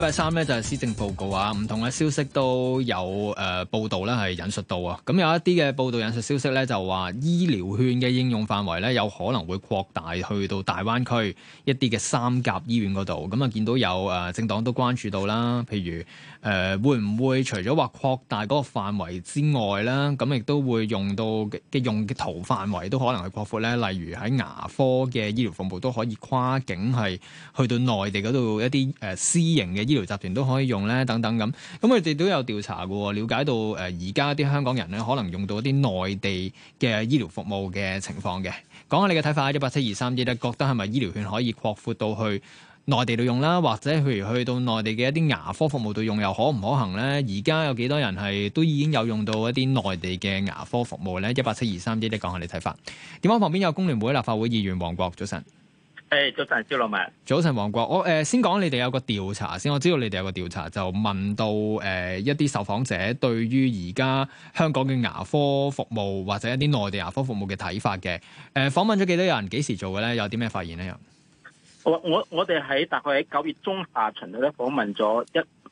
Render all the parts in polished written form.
禮拜三咧就係施政報告啊，唔同嘅消息都有報道咧係引述到啊。咁有一啲嘅報道引述消息咧就話醫療券嘅應用範圍咧有可能會擴大去到大灣區一啲嘅三甲醫院嗰度。咁啊見到有政黨都關注到啦，譬如會唔會除咗話擴大嗰個範圍之外啦，咁亦都會用到嘅用嘅途範圍都可能係擴闊咧。例如喺牙科嘅醫療服務都可以跨境係去到內地嗰度一啲私營嘅醫療集團都可以用咧，等等咁。咁佢哋都有調查嘅，了解到而家啲香港人咧可能用到一啲內地嘅醫療服務嘅情況嘅。講下你嘅睇法，18723咧，覺得係咪醫療券可以擴闊到去內地度用啦，或者譬如去到內地嘅一啲牙科服務度用又可唔可行咧？而家有幾多人係都已經有用到一啲內地嘅牙科服務咧？18723咧，講下你睇法。電話旁邊有工聯會立法會議員黃國，早晨。 早晨，蕭樂文。 早晨，黃國。我先講你哋有個調查先。我知道你哋有個調查，就問到一啲受訪者對於而家香港嘅牙科服務或者一啲內地牙科服務嘅睇法嘅。訪問咗幾多人？幾時做嘅咧？有啲咩發現咧？ 我哋喺大概喺9月中下旬咧訪問咗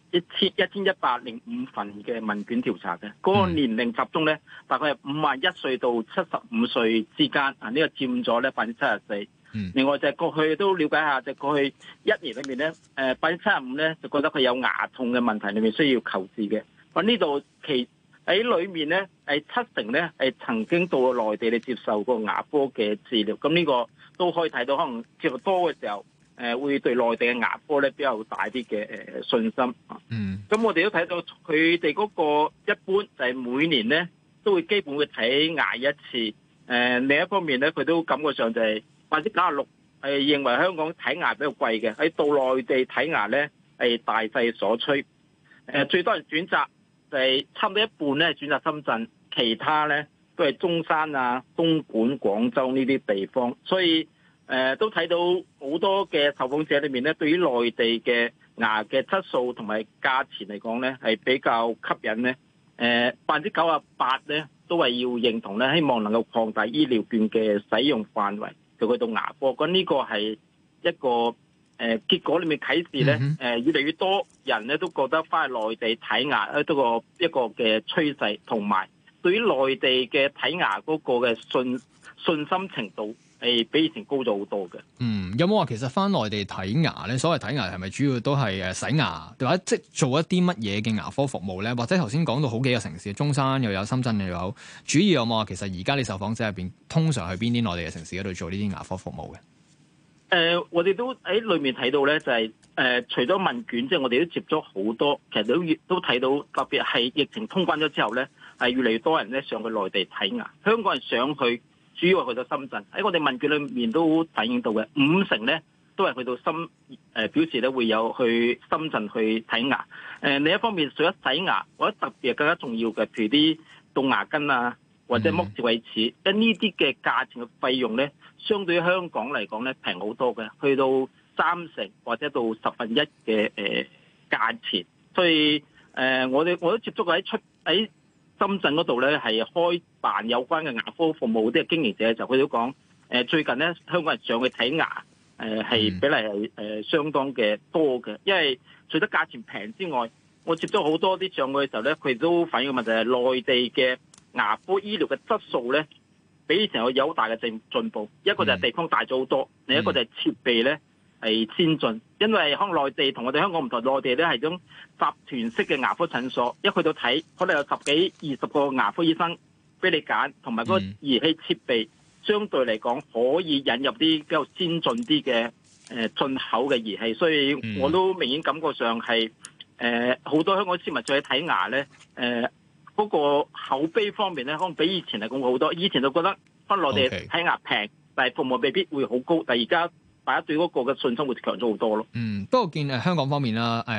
1105份嘅問卷調查嘅，嗰個年齡集中咧大概係51歲到75歲之間，呢個佔咗咧74%。另外就係過去都了解下，就過去一年裏面咧，75%咧就覺得佢有牙痛嘅問題，裏面需要求治嘅。呢度喺裏面咧係70%咧係曾經到內地嚟接受過牙科嘅治療，咁呢個都可以睇到，可能接觸多嘅時候，會對內地嘅牙科咧比較大啲嘅信心。咁我哋都睇到佢哋嗰個一般就係每年咧都會基本會睇牙一次。另一方面咧，佢都感覺上就係96%係認為香港睇牙比較貴嘅，喺到內地睇牙咧係大勢所趨。最多人選擇就係差唔多一半咧選擇深圳，其他咧都係中山啊、東莞、廣州呢啲地方。所以都睇到好多嘅受訪者裏面咧，對於內地嘅牙嘅質素同埋價錢嚟講咧係比較吸引咧。98%咧都係要認同咧，希望能夠擴大醫療券嘅使用範圍。就去到牙科，咁呢個係一個結果裏面啟示咧，越嚟越多人咧都覺得翻去內地睇牙咧，都一個嘅趨勢，同埋對於內地嘅睇牙嗰個嘅信心程度係比以前高咗好多嘅。 有冇話其實翻內地睇牙咧？所謂睇牙係咪主要都係洗牙，或者即係做一啲乜嘢嘅牙科服務咧？或者頭先講到好幾個城市，中山又有，深圳又有，主要有冇話其實而家你受訪者入邊，通常去邊啲內地嘅城市嗰度做呢啲牙科服務嘅？ 我哋都喺裏面睇到咧，就係除咗問卷，即係我哋都接咗好多，其實都睇到，特別係疫情通關咗之後咧，係越嚟越多人咧上去內地睇牙。香港人上去主要係去到深圳，喺我哋問卷裏面都反映到嘅，50%咧都係去到表示咧會有去深圳去睇牙。另一方面，除咗洗牙，我覺得特別更加重要嘅，譬如啲動牙根啊，或者剝智慧齒，因呢啲嘅價錢嘅費用咧，相對於香港嚟講咧平好多嘅，去到30%或者到1/10嘅價錢。所以我都接觸過喺深圳嗰度咧，係開辦有關嘅牙科服務啲經營者，就佢都講最近咧香港人上去睇牙係比例係相當嘅多嘅，因為除咗價錢平之外，我接觸好多啲上去嘅時候咧，佢都反映嘅問題係內地嘅牙科醫療嘅質素咧，比以前有好大嘅進步。一個就係地方大咗好多，另一個就係設備咧係先進。因為可能內地同我哋香港唔同，內地咧係種集團式嘅牙科診所，一去到睇可能有10幾20個牙科醫生俾你揀，同埋嗰個儀器設備相對嚟講可以引入啲比較先進啲嘅進口嘅儀器。所以我都明顯感覺上係好多香港市民再去睇牙咧嗰個口碑方面咧，可能比以前嚟講好多。以前就覺得翻內地睇牙平，但係服務未必會好高。但係而家大家對嗰個嘅信心會強咗好多咯。 不過見香港方面啦，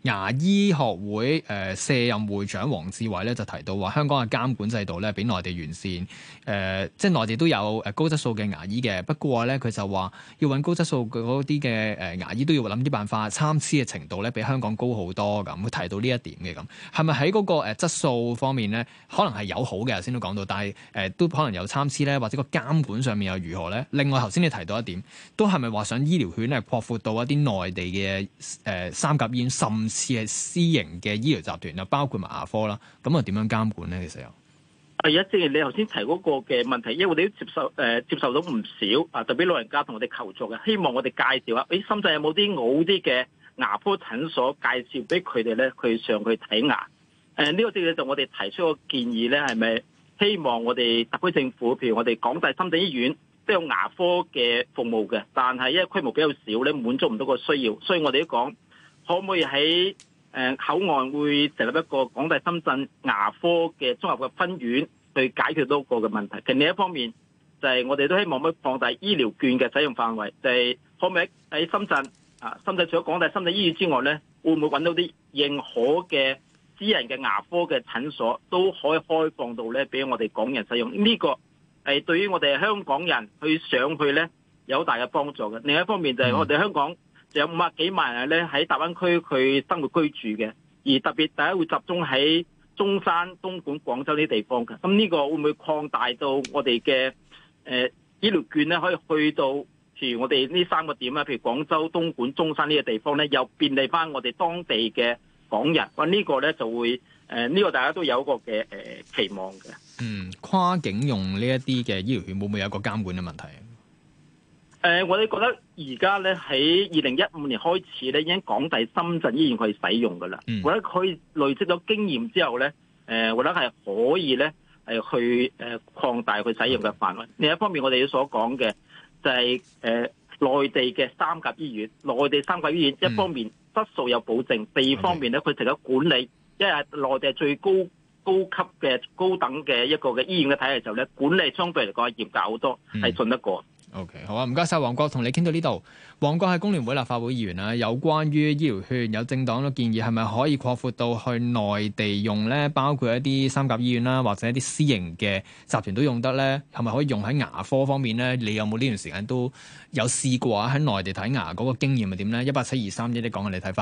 牙醫學會卸任會長黃志偉咧就提到話，香港嘅監管制度咧比內地完善，即係內地都有高質素嘅牙醫嘅，不過咧佢就話要揾高質素嗰啲嘅牙醫都要諗啲辦法，參差嘅程度咧比香港高好多咁。佢提到呢一點嘅咁，係咪喺嗰個質素方面咧，可能係有好嘅，頭先都講到，但係都可能有參差咧，或者個監管上面又如何咧？另外頭先你提到一點，都係咪話想醫療圈咧擴闊到一啲內地嘅三甲醫院，甚至係私營嘅醫療集團啊，包括埋牙科啦，咁啊點樣監管咧？其實又係啊，正如你頭先提嗰個嘅問題，因為我哋都接受到唔少啊，特別老人家同我哋求助嘅，希望我哋介紹下，深圳有冇啲好啲嘅牙科診所介紹俾佢哋咧，佢上去睇牙。呢個正正就我哋提出個建議咧，係咪希望我哋特區政府，譬如我哋港大深圳醫院都有牙科嘅服務嘅，但係因為規模比較少咧，滿足唔到個需要，所以我哋都講可唔可以喺口岸會成立一個港大深圳牙科嘅綜合嘅分院，去解決到個嘅問題。其實另一方面就係我哋都希望可以擴大醫療券嘅使用範圍，就係可唔可以喺深圳深圳除咗港大深圳醫院之外咧，會唔會揾到啲認可嘅私人嘅牙科嘅診所都可以開放到咧，俾我哋港人使用？呢個係對於我哋香港人去上去咧有好大嘅幫助嘅。另一方面就係我哋香港就有50幾萬人咧喺大灣區佢生活居住嘅，而特別大家會集中喺中山、東莞、廣州呢啲地方嘅。咁呢個會唔會擴大到我哋嘅醫療券咧，可以去到譬如我哋呢3個點啊，譬如廣州、東莞、中山呢個地方咧，又便利翻我哋當地嘅港人。咁呢個咧就會呢個大家都有一個嘅期望嘅。 跨境用呢一啲嘅醫療券會唔會有一個監管嘅問題？ 我哋覺得而家咧喺2015年開始咧，已經港大深圳醫院可以使用噶啦。我覺得佢累積咗經驗之後咧，我覺得係可以咧去擴大佢使用嘅範圍。另一方面，我哋所講嘅就係內地嘅三甲醫院，內地三甲醫院一方面質素有保證，第二方面咧佢成咗管理，因為內地係最高級嘅高等嘅一個嘅醫院嘅體系，就咧管理相對嚟講係嚴格好多，係信得過。 OK， 好啊，唔該晒，黃國，同你傾到呢度。黃國係工聯會立法會議員啦，有關於醫療券，有政黨都建議係咪可以擴闊到去內地用咧？包括一啲三甲醫院啦，或者一啲私營嘅集團都用得咧？係咪可以用喺牙科方面咧？你有冇呢段時間都有試過喺內地睇牙嗰個經驗係點咧？18723，你講下你睇法。